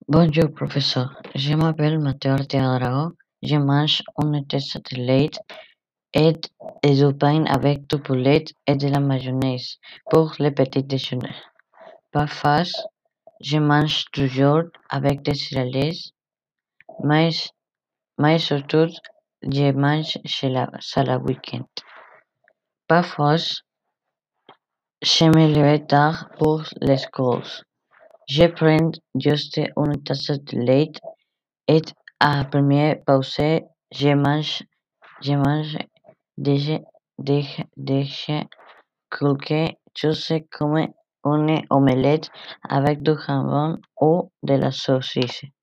Bonjour, professeur. Je m'appelle Matteo Arteaga. Je mange une tasse de lait et du pain avec du poulet et de la mayonnaise pour le petit déjeuner. Parfois, je mange du yaourt avec des céréales, mais, mais surtout, je mange chez la week-end. Parfois, je me lève tard pour l'école. Je prends juste une tasse de lait et à première pause, je mange des quelque chose comme une omelette avec du jambon ou de la saucisse.